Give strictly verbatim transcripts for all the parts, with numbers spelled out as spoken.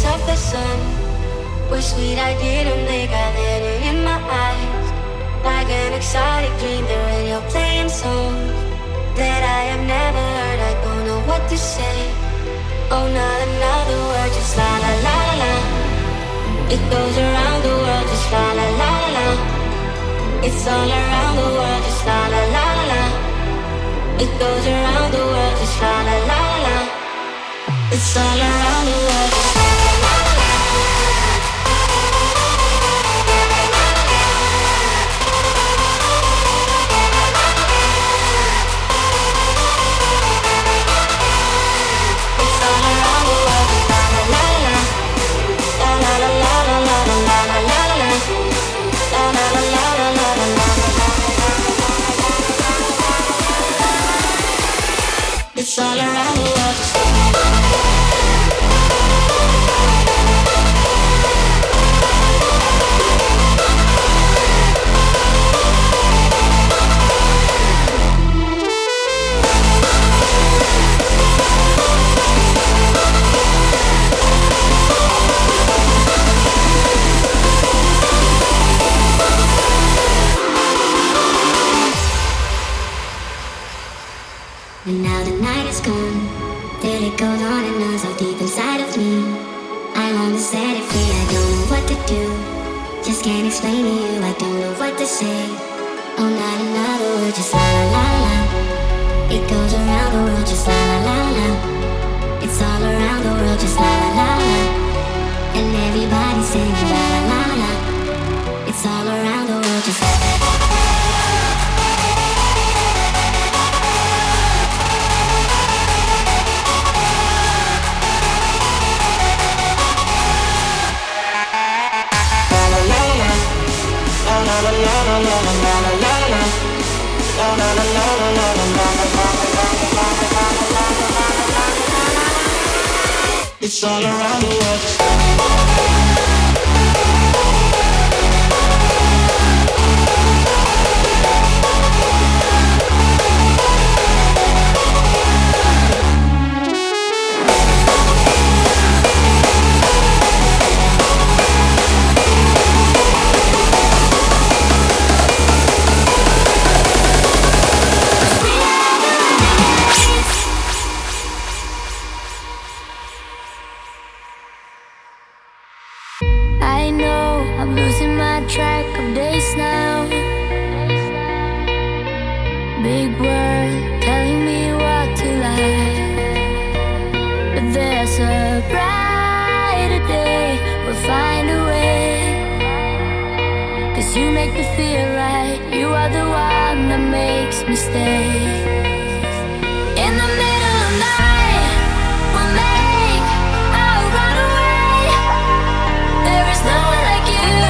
of the sun were sweet, I didn't think I let it in my eyes. Like an exotic dream, the radio playing songs that I have never heard. I don't know what to say. Oh, not another word, just la la la la la. It goes around the world, just la la la la la. It's all around the world, just la la la la la. It goes around the world, just la la la la la. It's all around the world, just la la la la la. It's all around the world, just la la la la la. La la la la la la la la la la la. La la la la la la la la la. It's all around the world, just la la la la. And now the night is gone, till it goes on and on so deep inside of me. I long to set it free, I don't know what to do. Just can't explain to you, I don't know what to say. Oh, not another word, just la la la la. It goes around the world, just la la la la. It's all around the world, just la la la la. And everybody's singing la la la la. It's all around the world, just la la la la. It's all around the world. Track of days now. Big world telling me what to like, but there's a brighter day. We'll find a way. Cause you make me feel right. You are the one that makes me stay. In the middle of night, we'll make our run away. There is no one like you.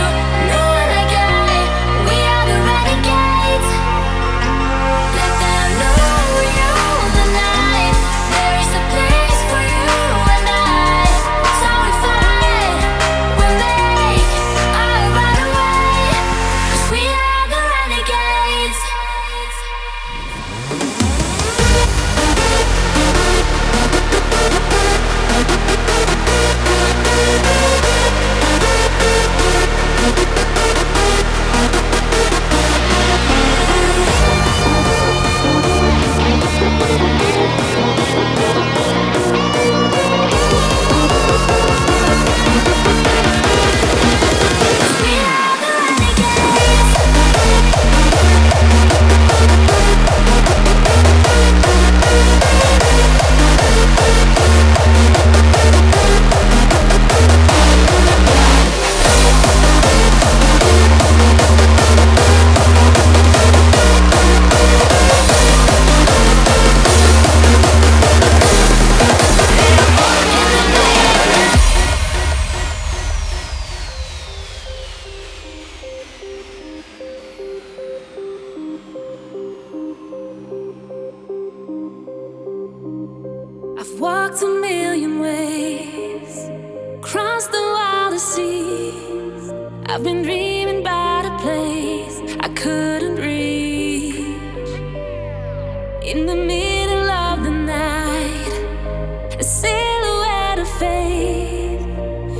Walked a million ways, crossed the wildest seas. I've been dreaming about a place I couldn't reach. In the middle of the night, a silhouette of faith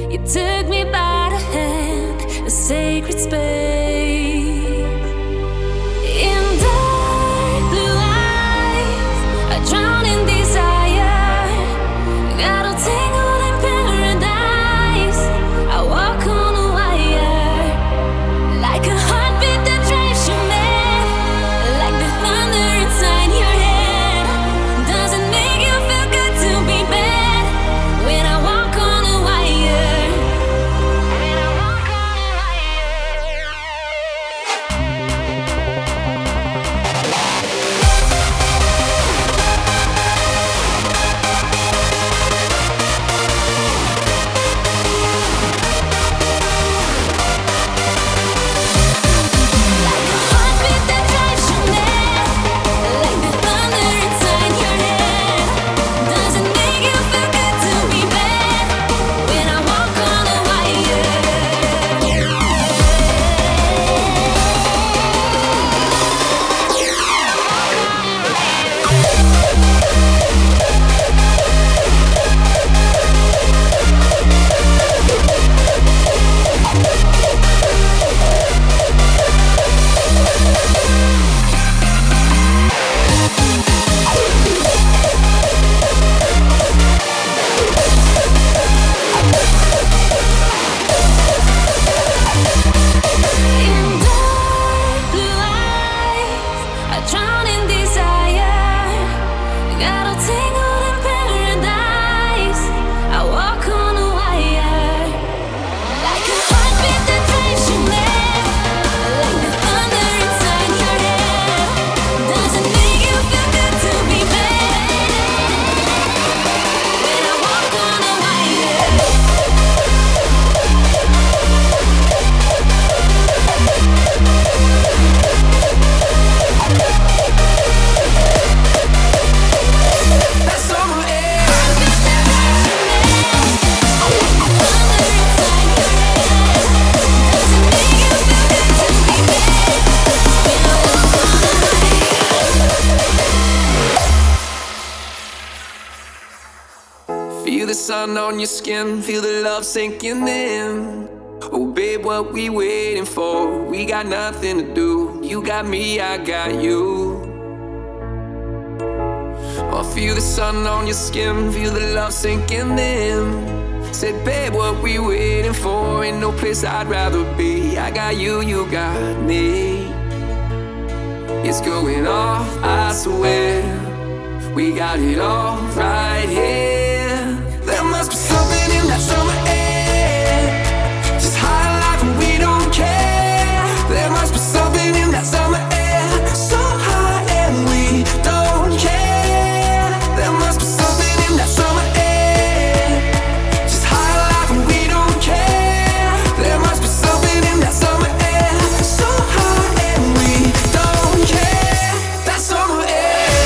sun on your skin, feel the love sinking in. Oh babe, what we waiting for? We got nothing to do. You got me, I got you. Oh, feel the sun on your skin, feel the love sinking in. Said babe, what we waiting for? Ain't no place I'd rather be. I got you, you got me. It's going off, I swear. We got it all right here. There must be something in that summer air, just high life and we don't care. There must be something in that summer air, so high and we don't care. There must be something in that summer air, just high life and we don't care. There must be something in that summer air, so high and we don't care. That summer air.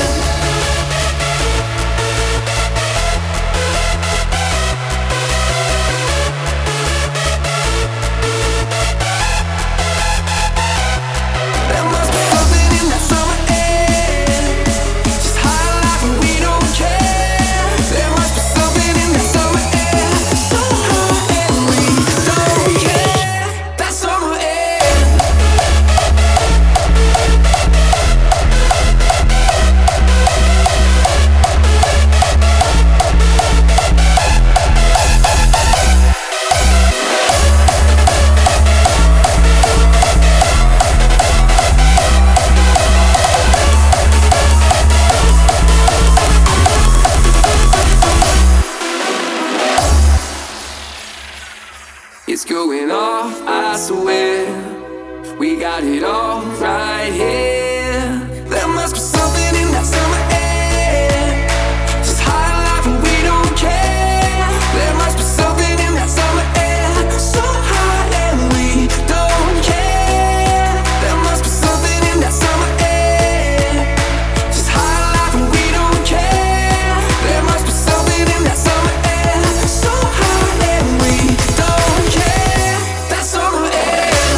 It's going off, I swear. We got it all right here. There must be something in that summer air, just high life and we don't care. There must be something in that summer air, so high and we don't care. There must be something in that summer air, just high life and we don't care. There must be something in that summer air, so high and we don't care. That summer air.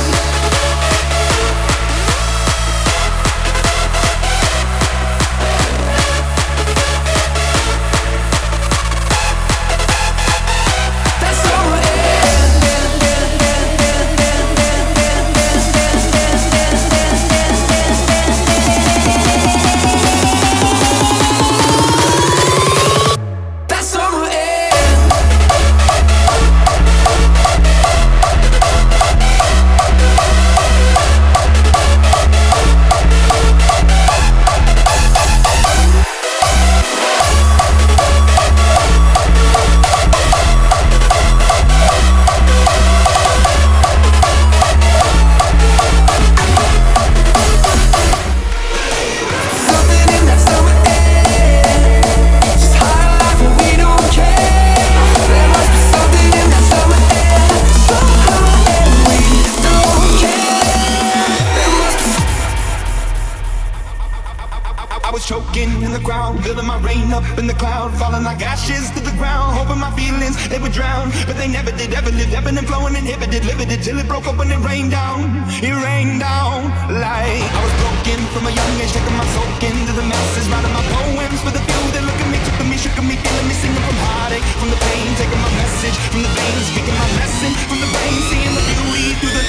Choking in the ground, building my rain up in the cloud, falling like ashes to the ground, hoping my feelings, they would drown, but they never did, ever lived, ebbing and flowing, inhibited, limited, till it broke up when it rained down, it rained down, like I was broken from a young age, taking my soul into the masses, writing my poems for the few that look at me, took at me, shook at me, feeling me, singing from heartache, from the pain, taking my message, from the veins, speaking my lesson, from the brain, seeing the beauty through the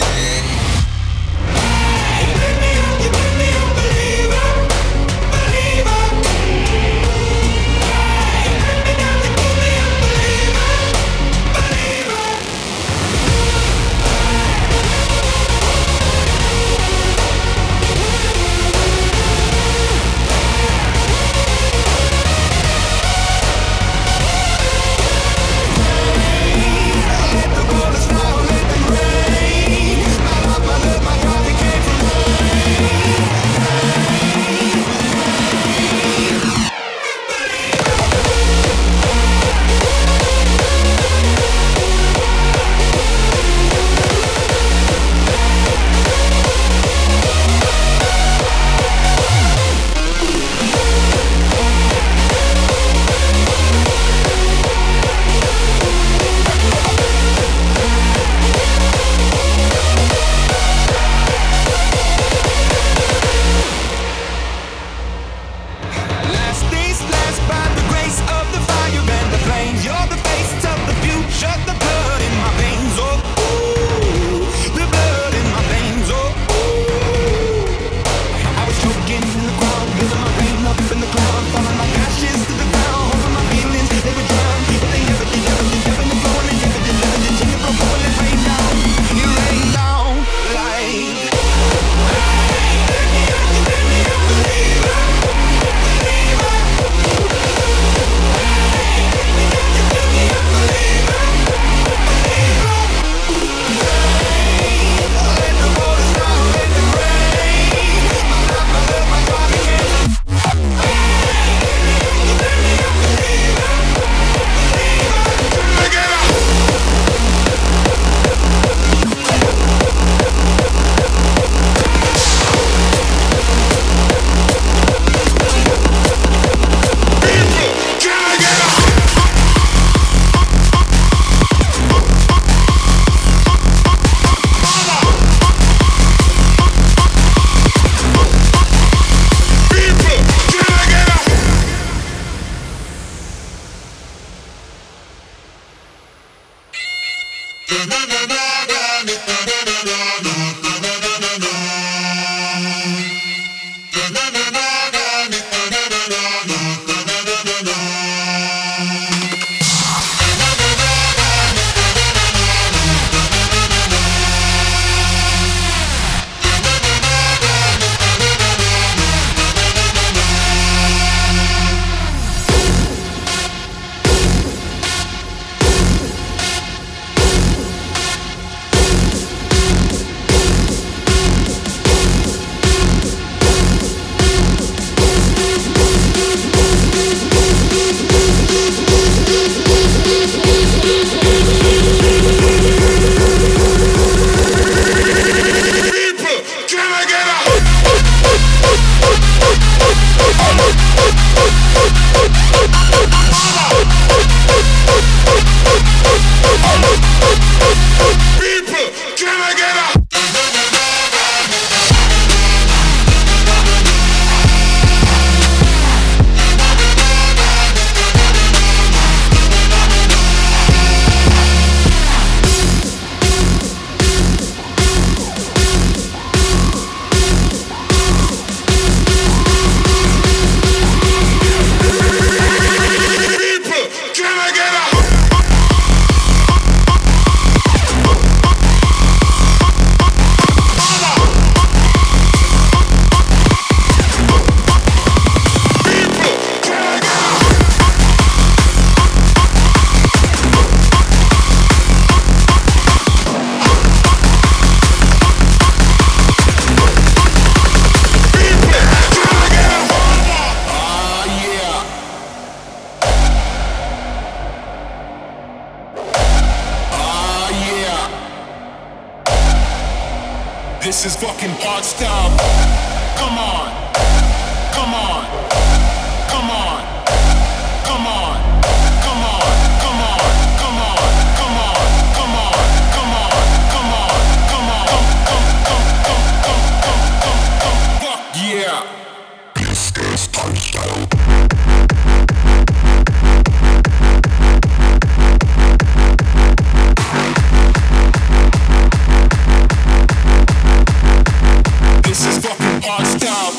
you pick me up, you pick me up, believer. Let the colors fall, let them rain. is fucking hard style. Come on, come on, come on, come on, come on, come on, come on, come on, come on, come on, come on, come on, come, come, come, come, come, come, come, come, fuck yeah. This is hard style. This is fucking hard style.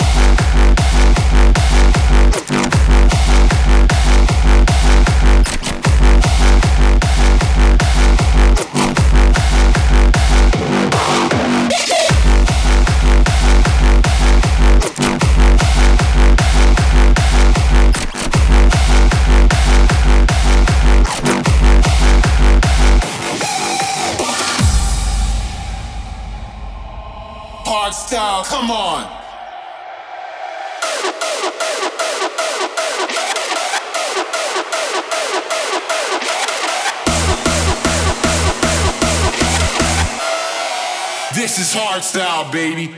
Hard style, come on. This is hard style, baby.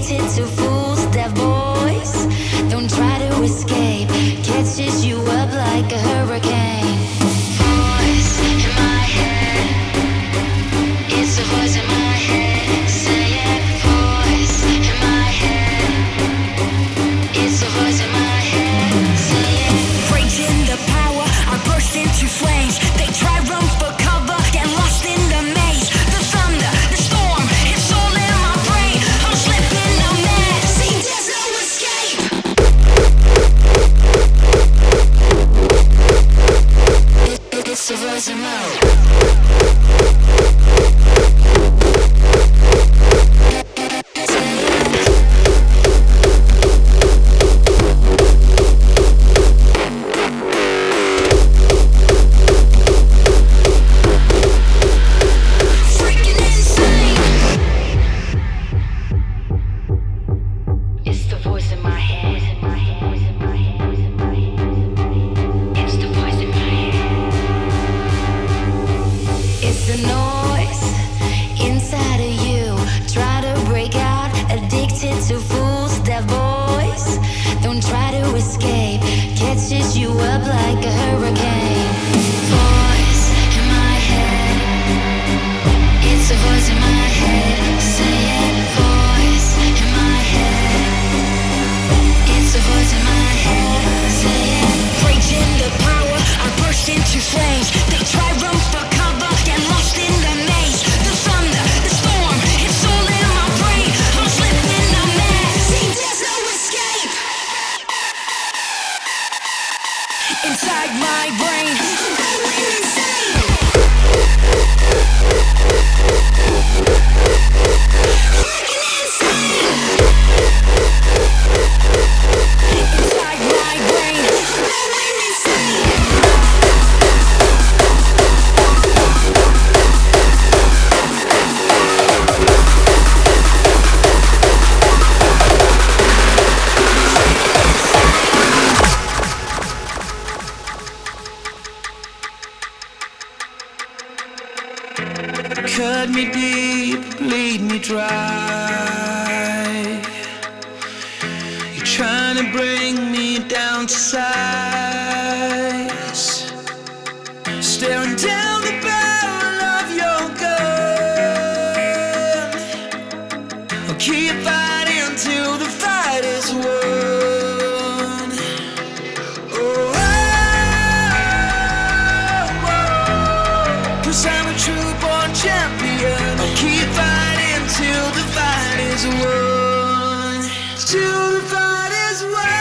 addicted to fools, that voice. Don't try to escape, catches you up like a hurricane. Voice in my head, it's a voice in my head. Say it, voice in my head, it's a voice in my head. Say it. Breaking the power, I burst into flames. They try run for cover, get lost in the maze. The thunder, the storm, it's all in my brain. I'm slipping, I'm mad. See, there's no escape. It's a voice in my head. Inside my brain, cut me deep, bleed me dry. You're trying to bring me down to size, staring down the barrel of your gun. I'll keep fighting till the fight is won. Oh, oh, oh, 'cause I'm a true born champion. I'll keep fighting till the fight is won. Till the fight is won.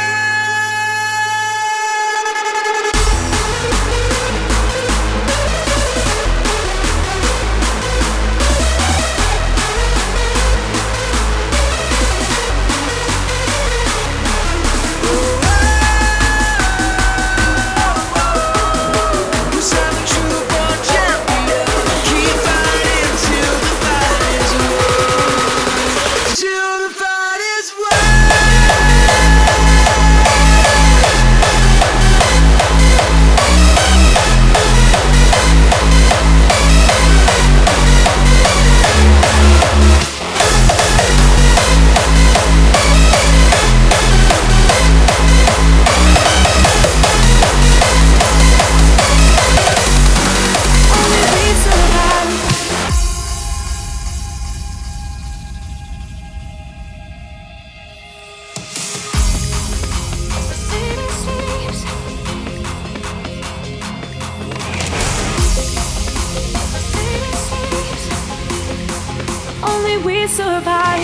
Only we survive.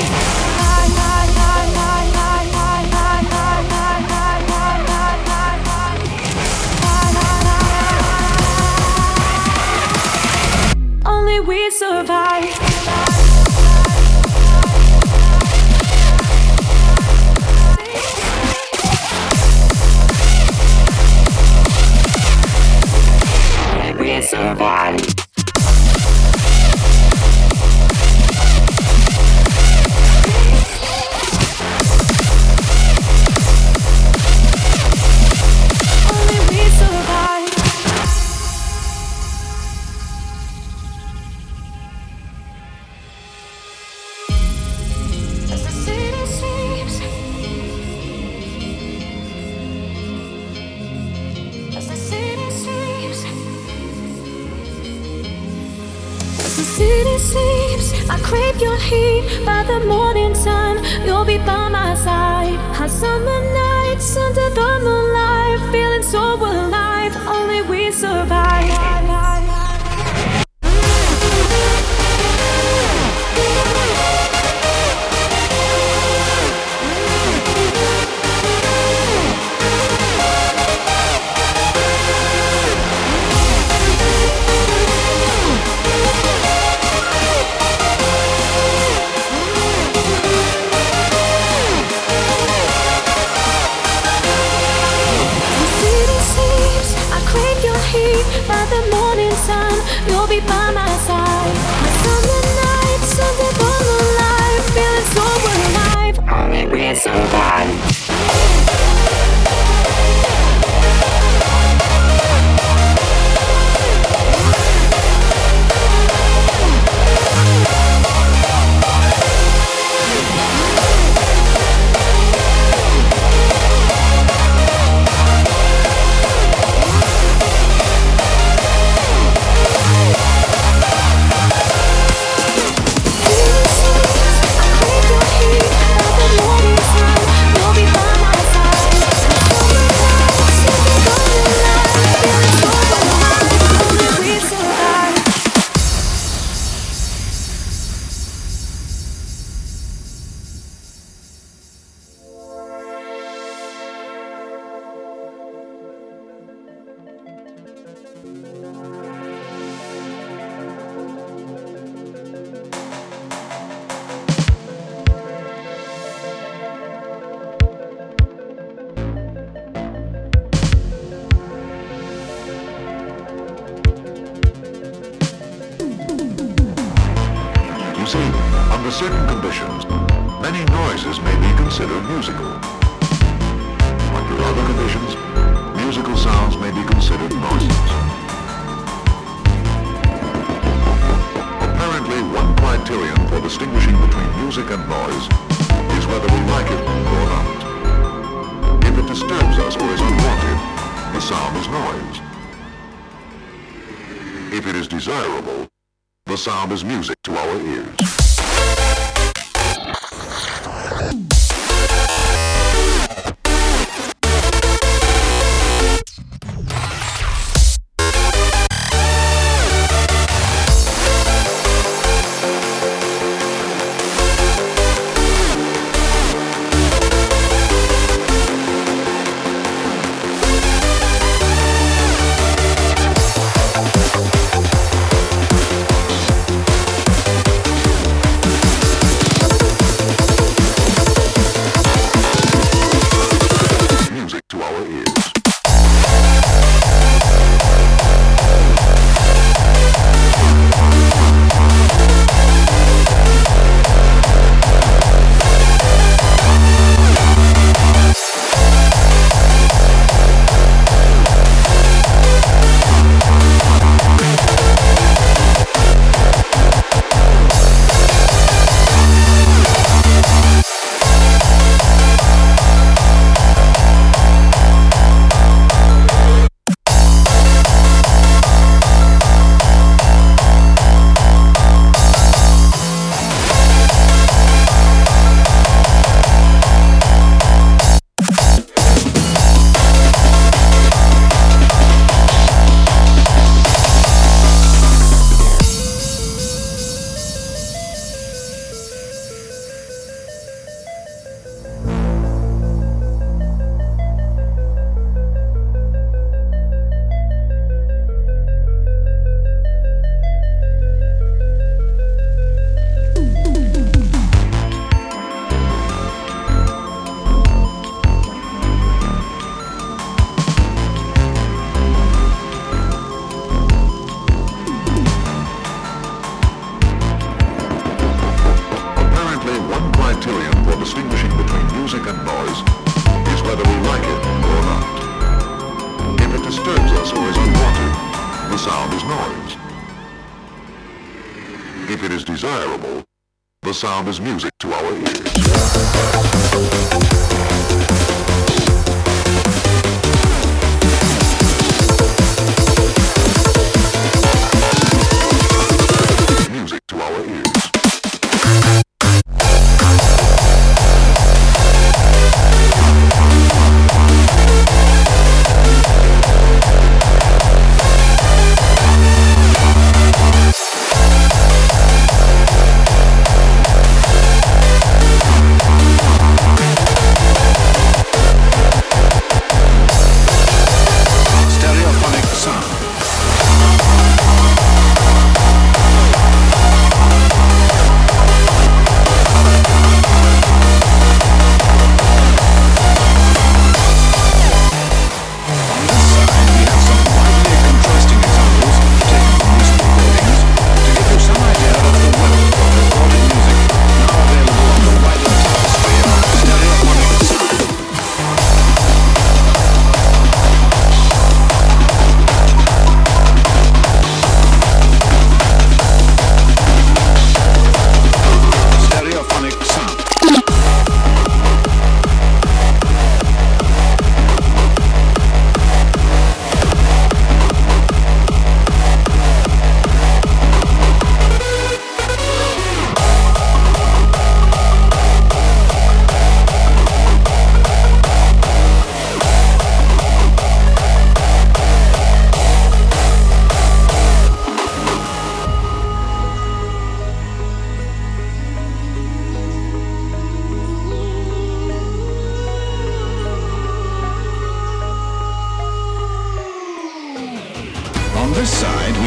Only we survive. We survive. sleeps, I crave your heat. By the morning sun, you'll be by my side. Hot summer nights under the moonlight, feeling so alive. Only we survive. By the morning sun, you'll be by my side. My summer nights under the moonlight, feeling so alive. Only we survive. You see, under certain conditions, many noises may be considered musical. Under other conditions, musical sounds may be considered noises. Apparently, one criterion for distinguishing between music and noise is whether we like it or not. If it disturbs us or is unwanted, the sound is noise. If it is desirable, the sound is music to our ears. If it is desirable, the sound is music to our ears. Music to our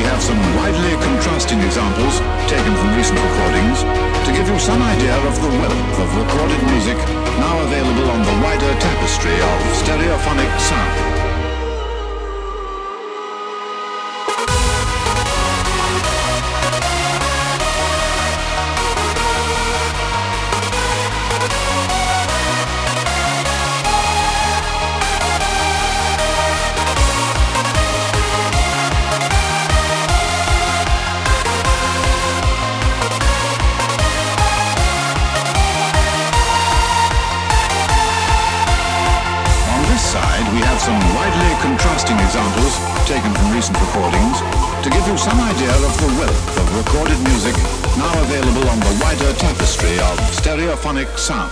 have some widely contrasting examples taken from recent recordings to give you some idea of the wealth of recorded music now available on the wider tapestry of stereophonic sound. Examples taken from recent recordings to give you some idea of the wealth of recorded music now available on the wider tapestry of stereophonic sound.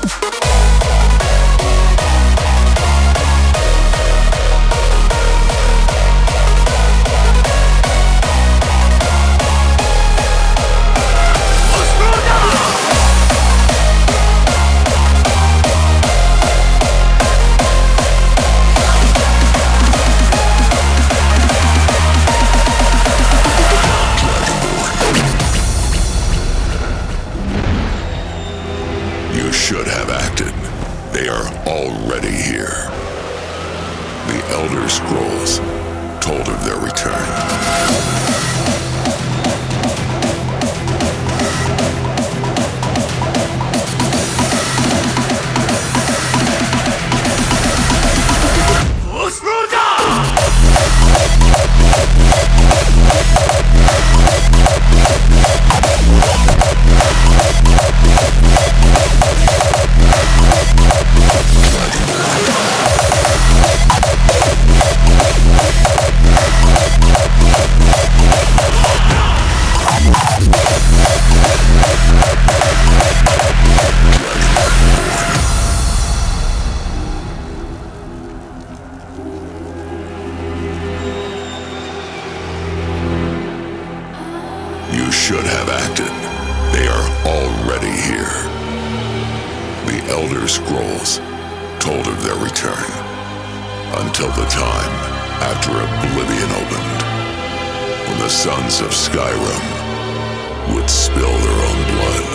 Should have acted. They are already here. The Elder Scrolls told of their return. Should have acted. They are already here. The Elder Scrolls told of their return until the time after Oblivion opened, when the sons of Skyrim would spill their own blood.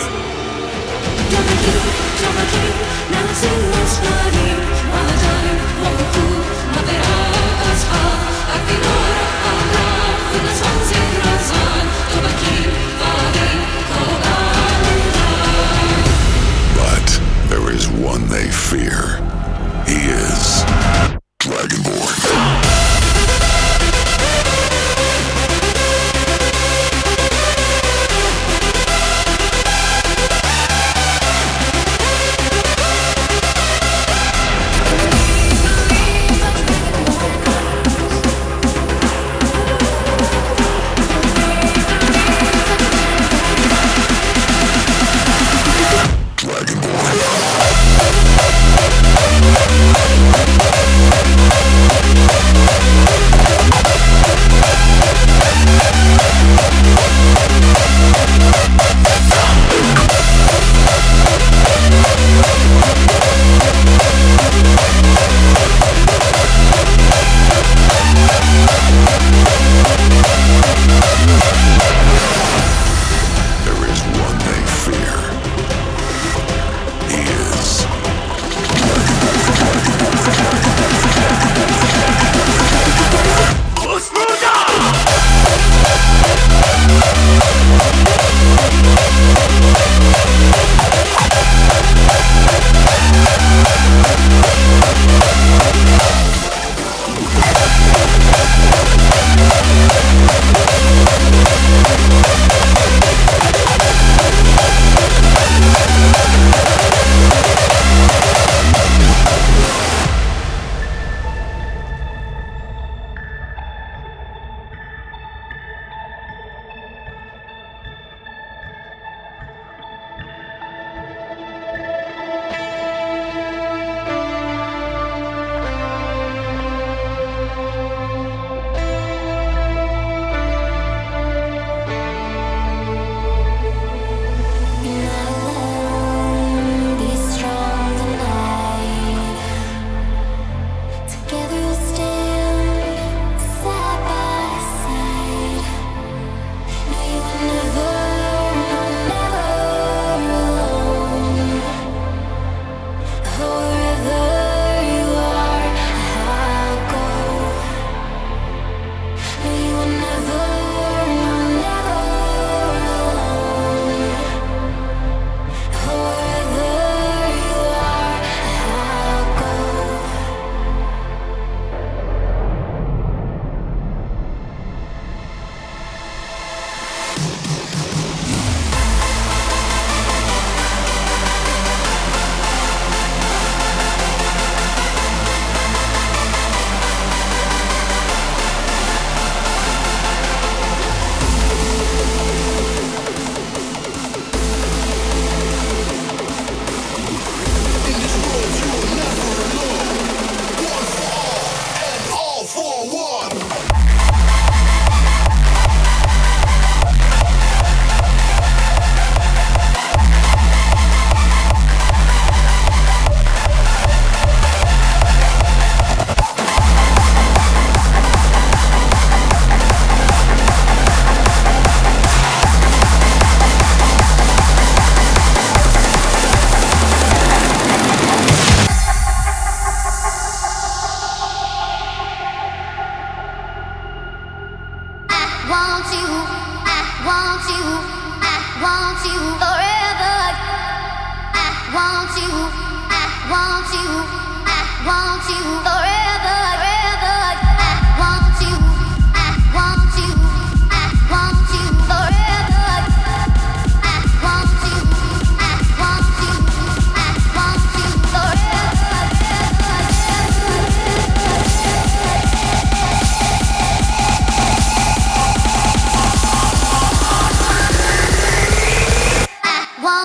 But there is one they fear. He is Dragonborn.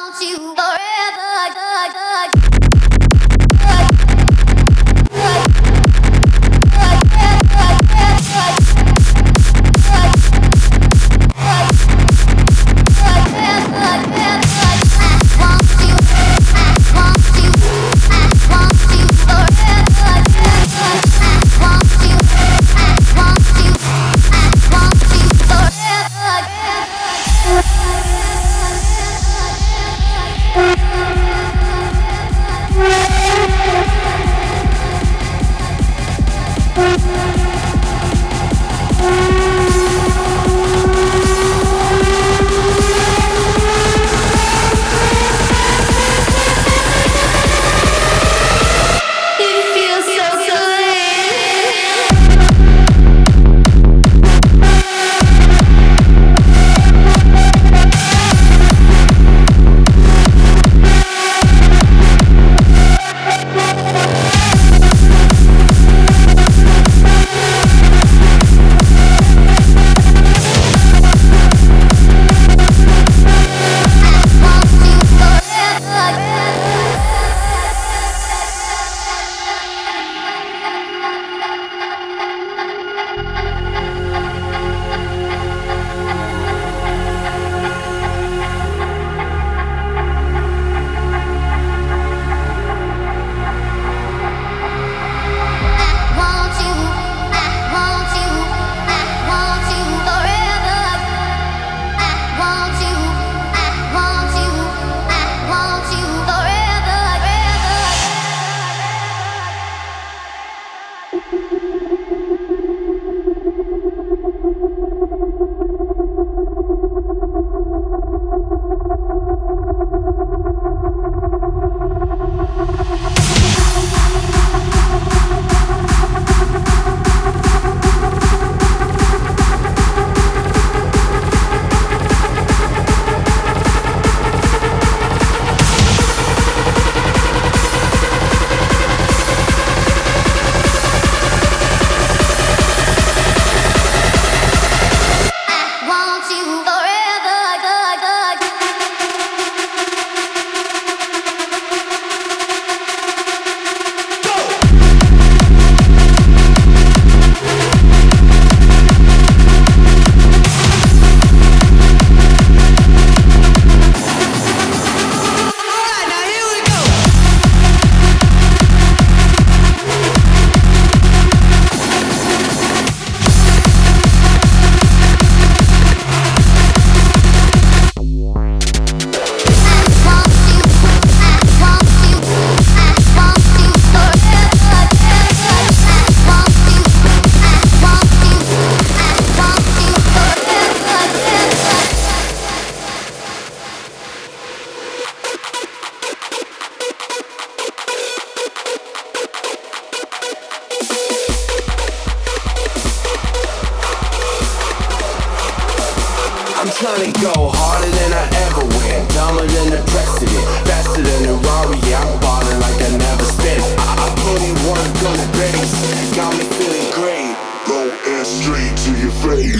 trying to go harder than I ever went, dumber than the precedent, faster than the Rari. Yeah, I'm ballin' like I never spent. I, I put in work on the base, got me feeling great. Go and straight to your face.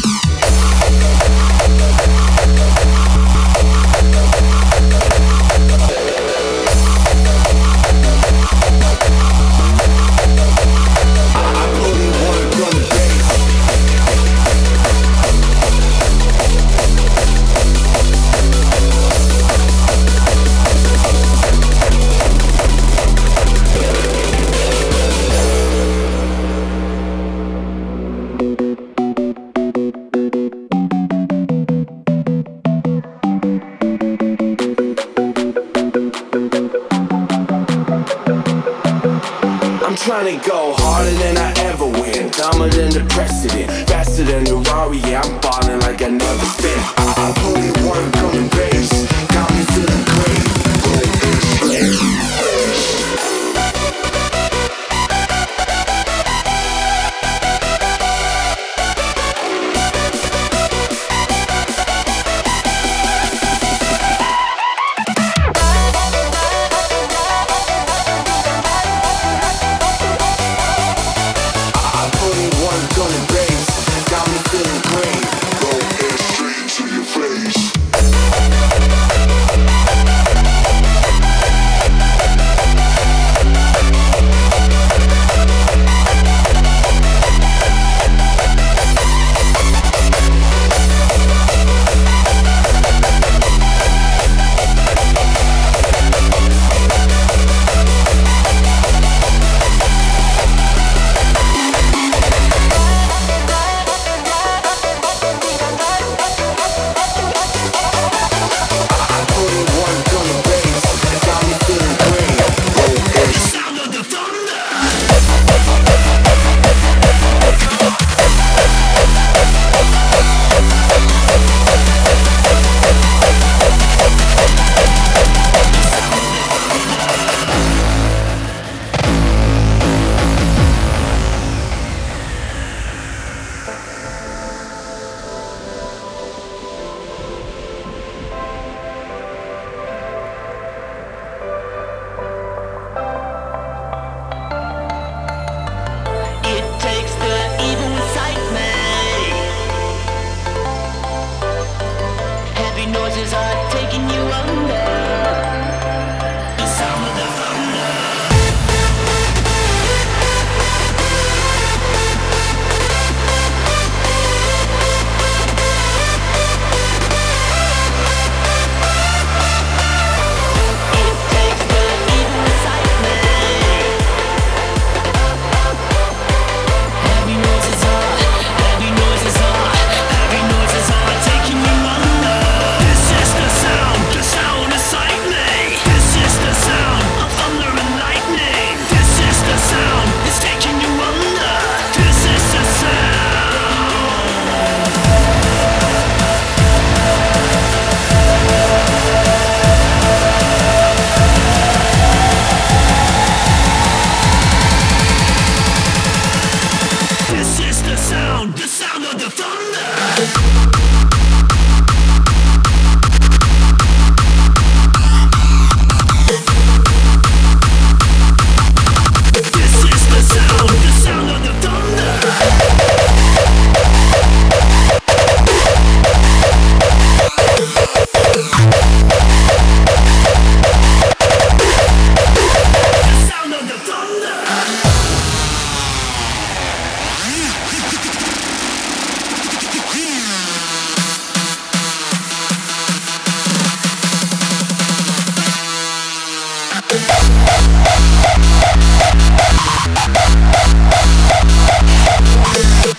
Trying to go harder than I ever went, dumber than the precedent, faster than the Rari. Yeah, I'm ballin' like I never spent. I, I put in work on the base, got me feeling great. Go and straight. Got me feeling great. Go and straight to your face.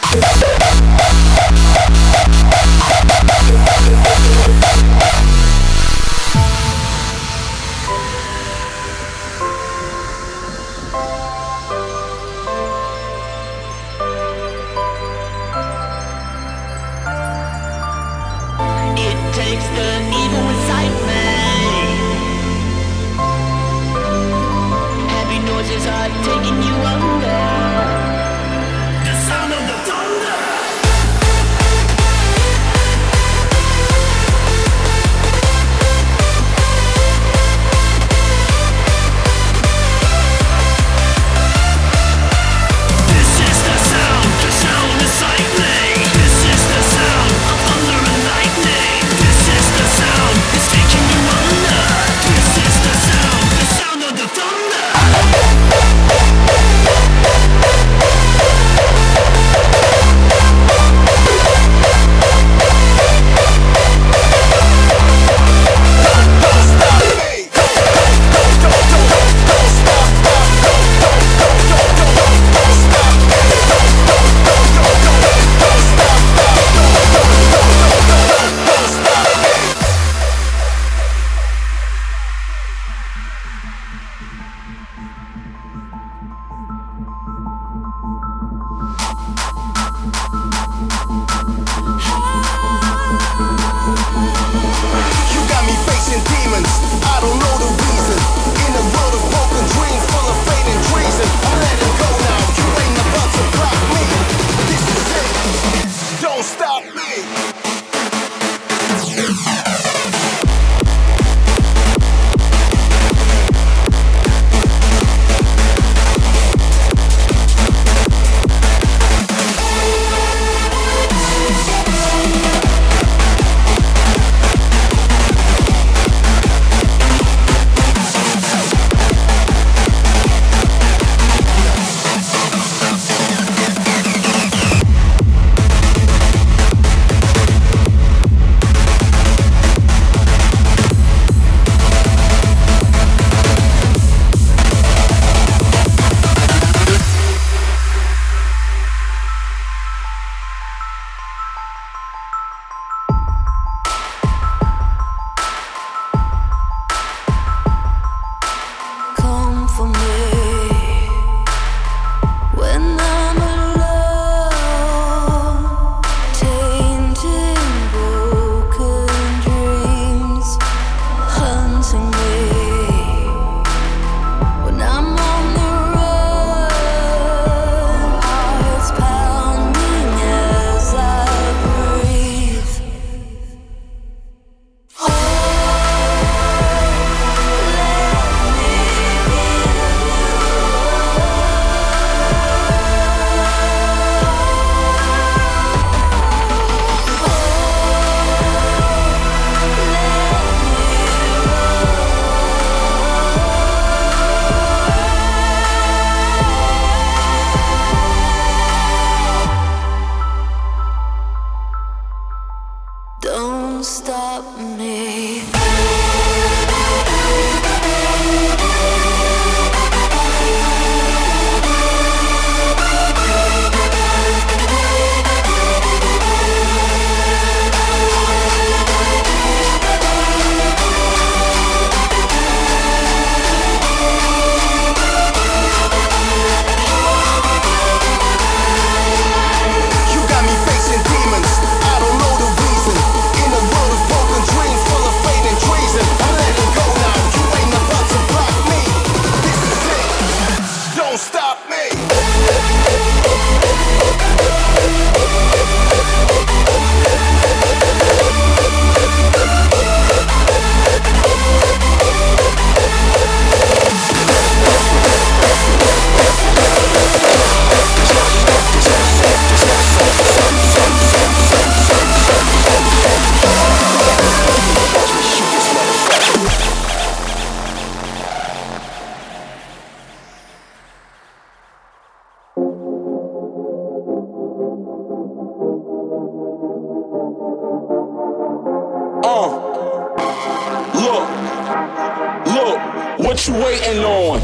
What you waiting on?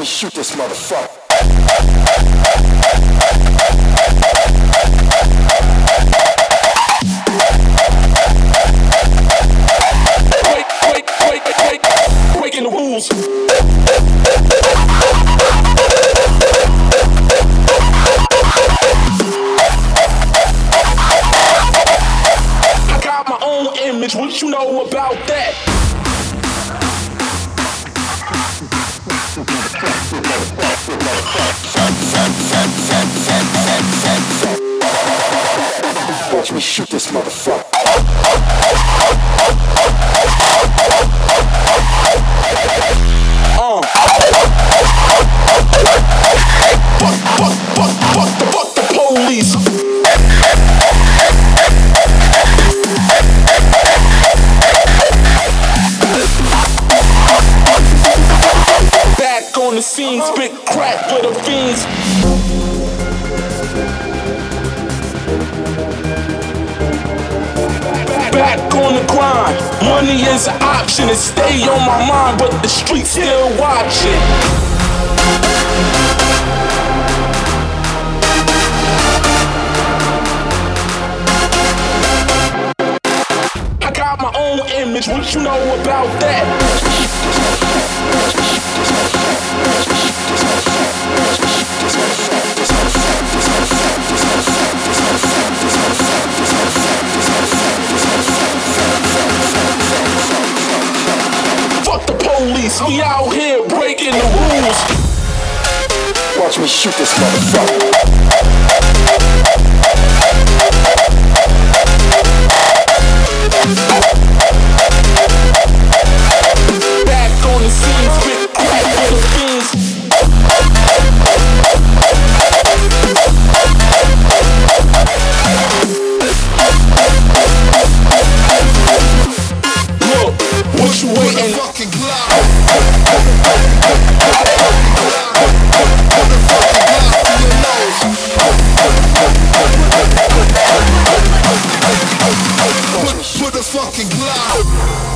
shoot this motherfucker. Break, break, break, break, breaking the rules. I got my own image, what you know about that? Watch me shoot this motherfucker. Uh. Fuck, fuck, fuck, fuck the, fuck the police. Back on the scene, spit crack for the fiends. Back on the grind, money is an option. It stay on my mind, but the streets still watching. I got my own image, what you know about that? Fuck the police, we out here breaking the rules. Watch me shoot this motherfucker. Back on the scene, spit crack for the fiends. Look, what you waiting? Fucking Glock. Put the fucking Glock.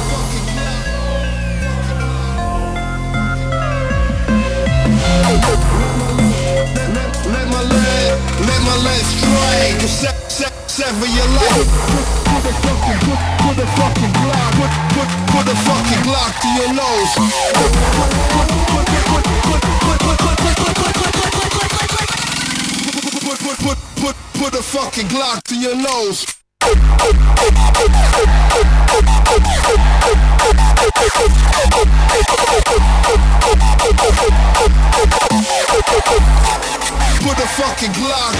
Let my leg, let my leg strike. Se se sever your life. Put the fucking, put, put the fucking Glock. Put, put, put the fucking Glock to your nose. Put, put, put, put, put, put, put, put, put, put, put, put, put, put, put the fucking Glock to your nose. Put the fucking Glock.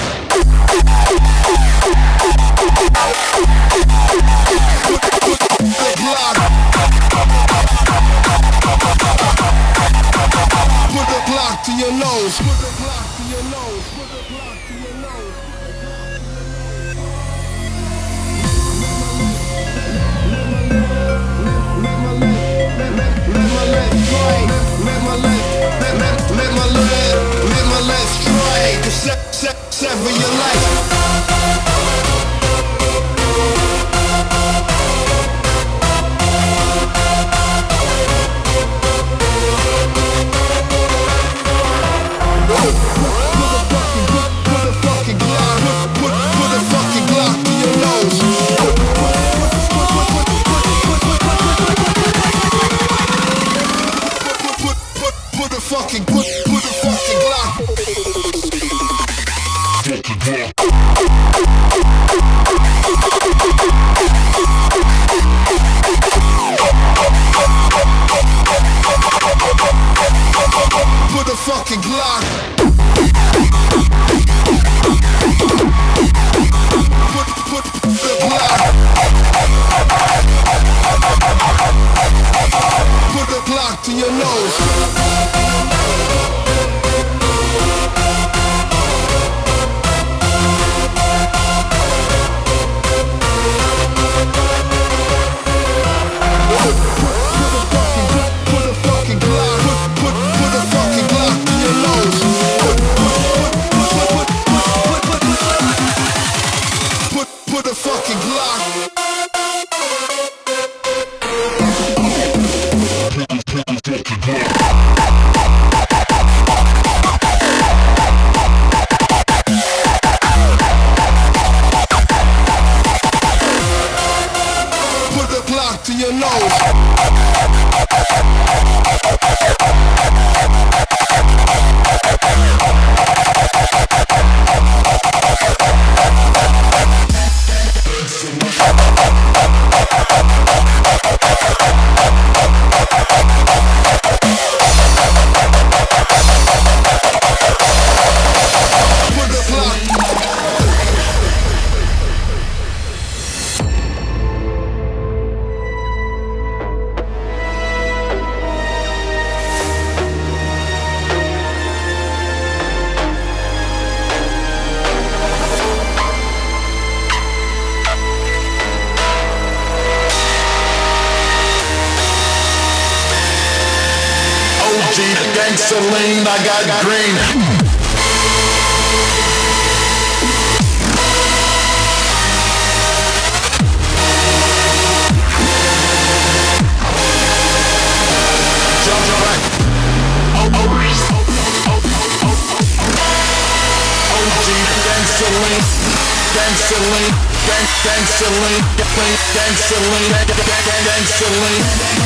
Put, put the Glock. Put the Glock to your nose. Put the Glock to your nose. Put the Glock to your nose. Let my leg, let, let, let my leg strike. Let my leg, let, let, let my leg, let my leg strike. Se, se, sever your life. Fucking put, put the fucking Glock. Put the fucking Glock. Put, put the Glock. Put the Glock to your nose. G, gangsta lean, I got green. Gasoline, gasoline, gasoline, gasoline, gasoline.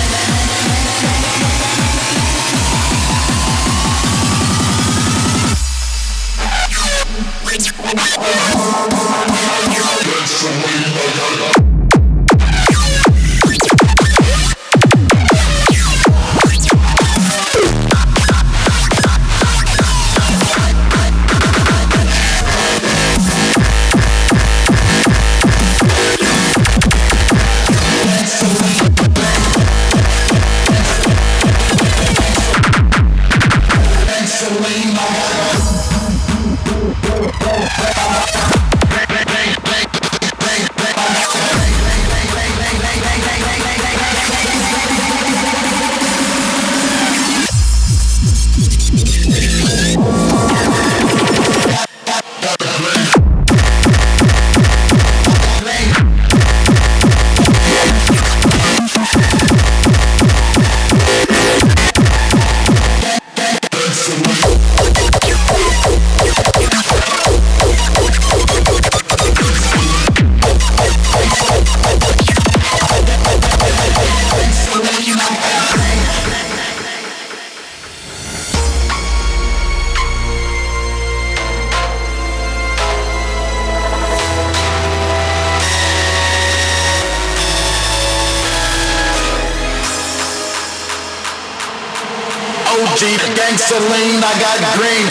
Gasoline, I got green.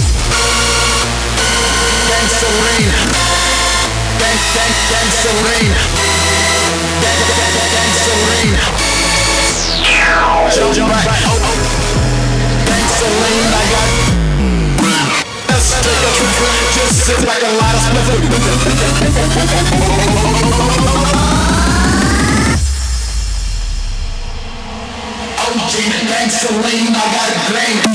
Gasoline, gang, gang, gasoline, gang, gang, gasoline. Jump right, oh, oh. Gasoline, I got green. Let's take a trip, just sit back and light a O G gasoline, I got green.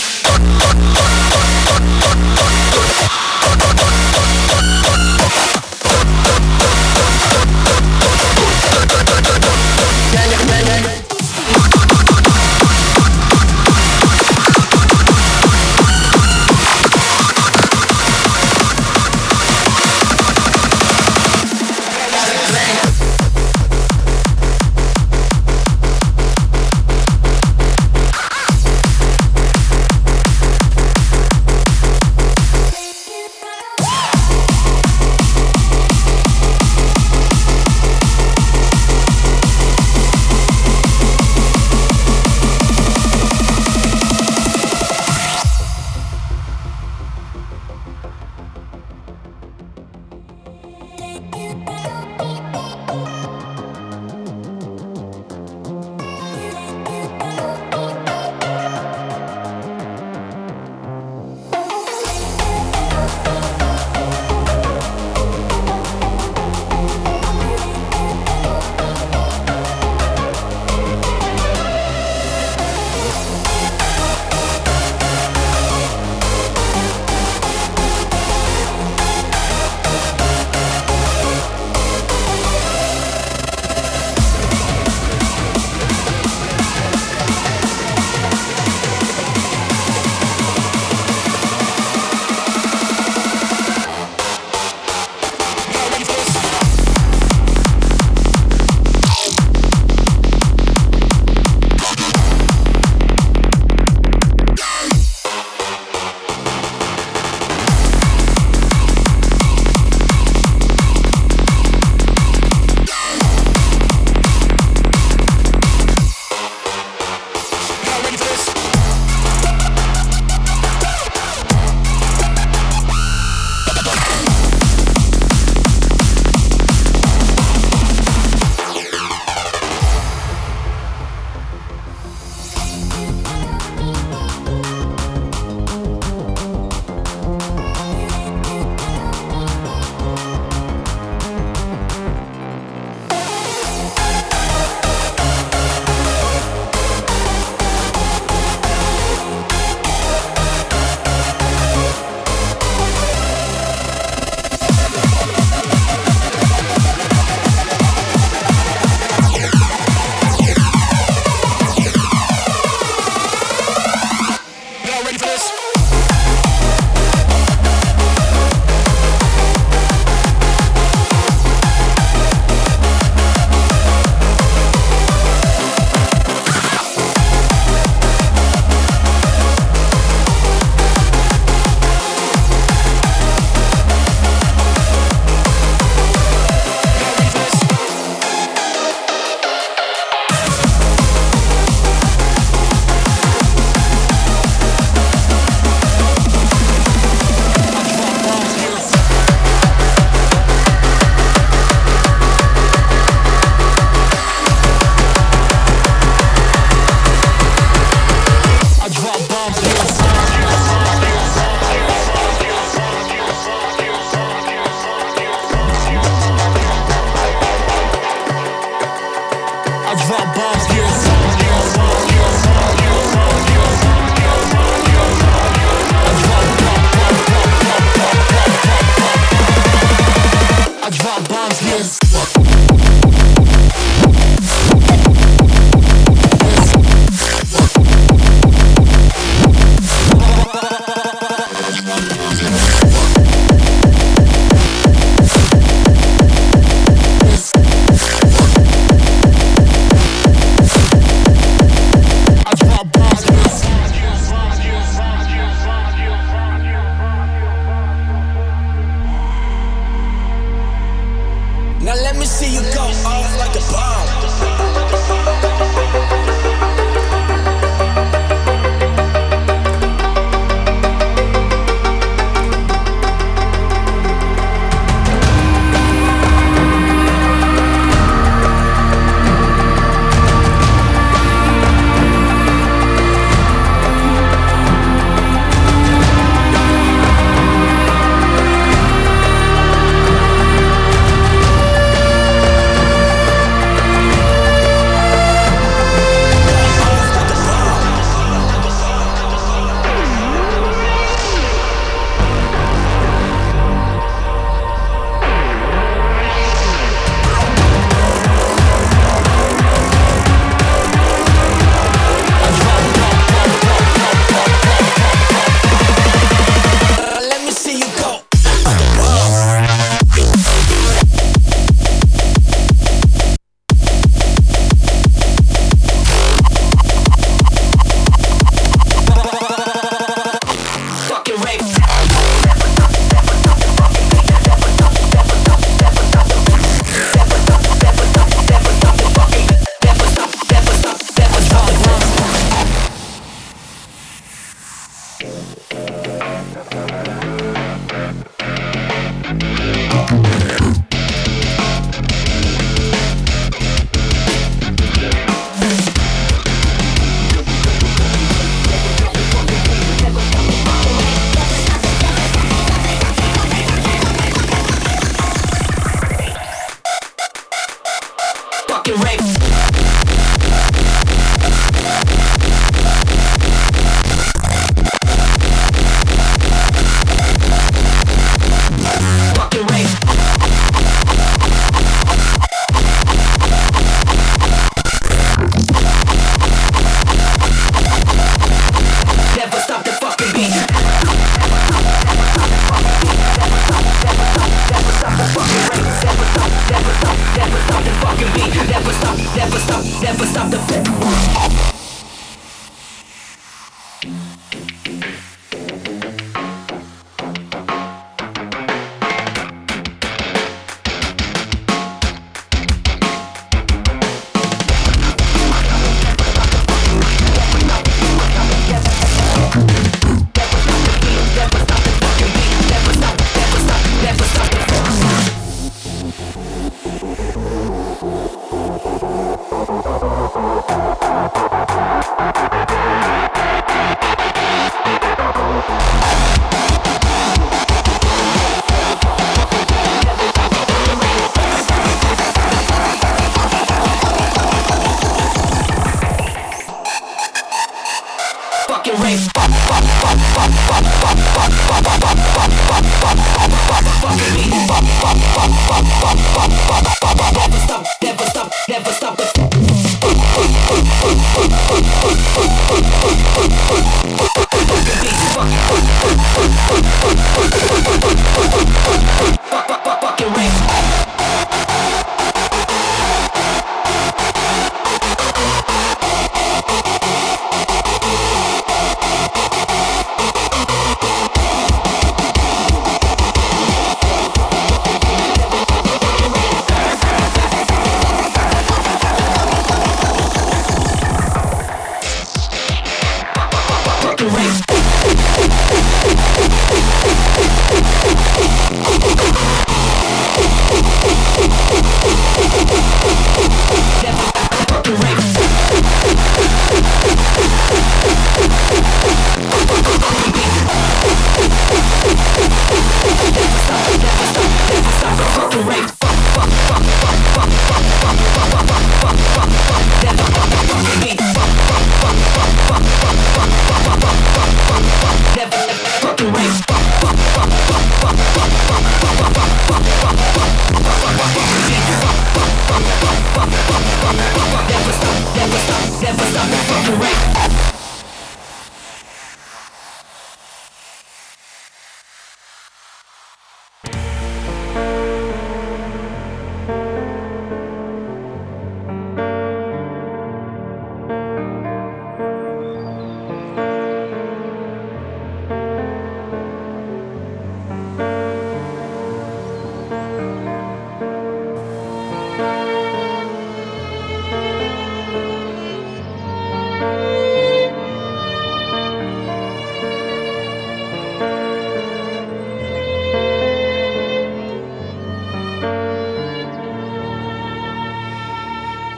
drop bombs, yes. Now let me see you go off like a bomb.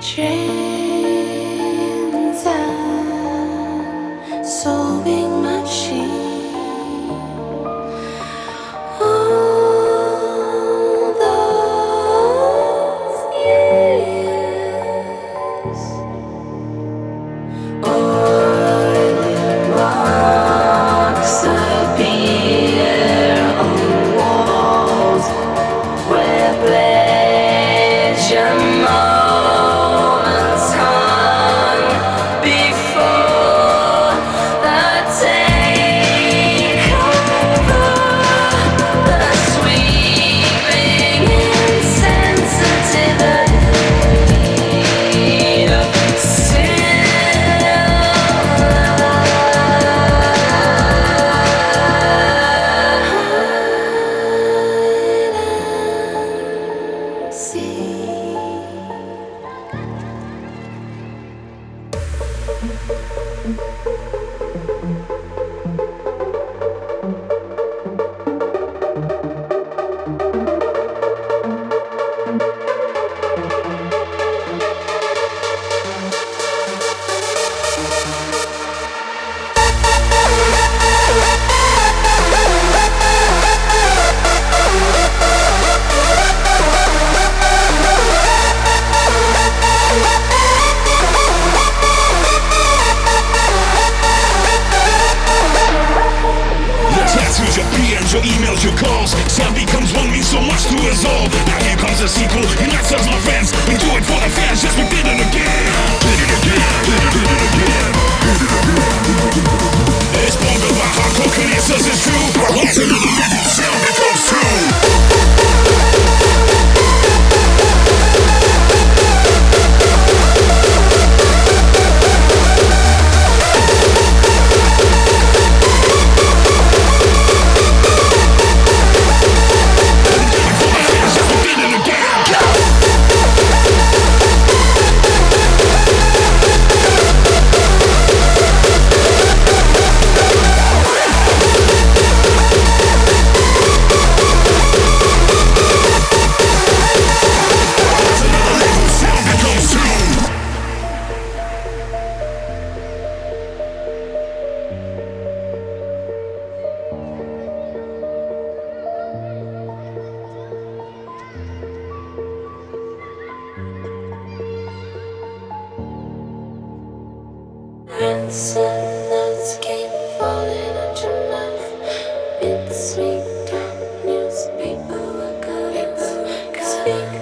Trains and solving machine. All those years. Oil marks appear on walls where pleasure moments hung before the takeover, the sweeping insensitivity of your P Ms, your emails, your calls. Sound becomes one, means so much to us all. Now here comes a sequel, unites us, my friends. We do it for the fans, yes, we did it again. Did it again, did it, did it again. Did it again. It's bungled by hardcore criticism, it's true. Once another legend, sound becomes true. Ransom notes keep falling at your mouth. Bittersweet talk, newspaper workers. Speak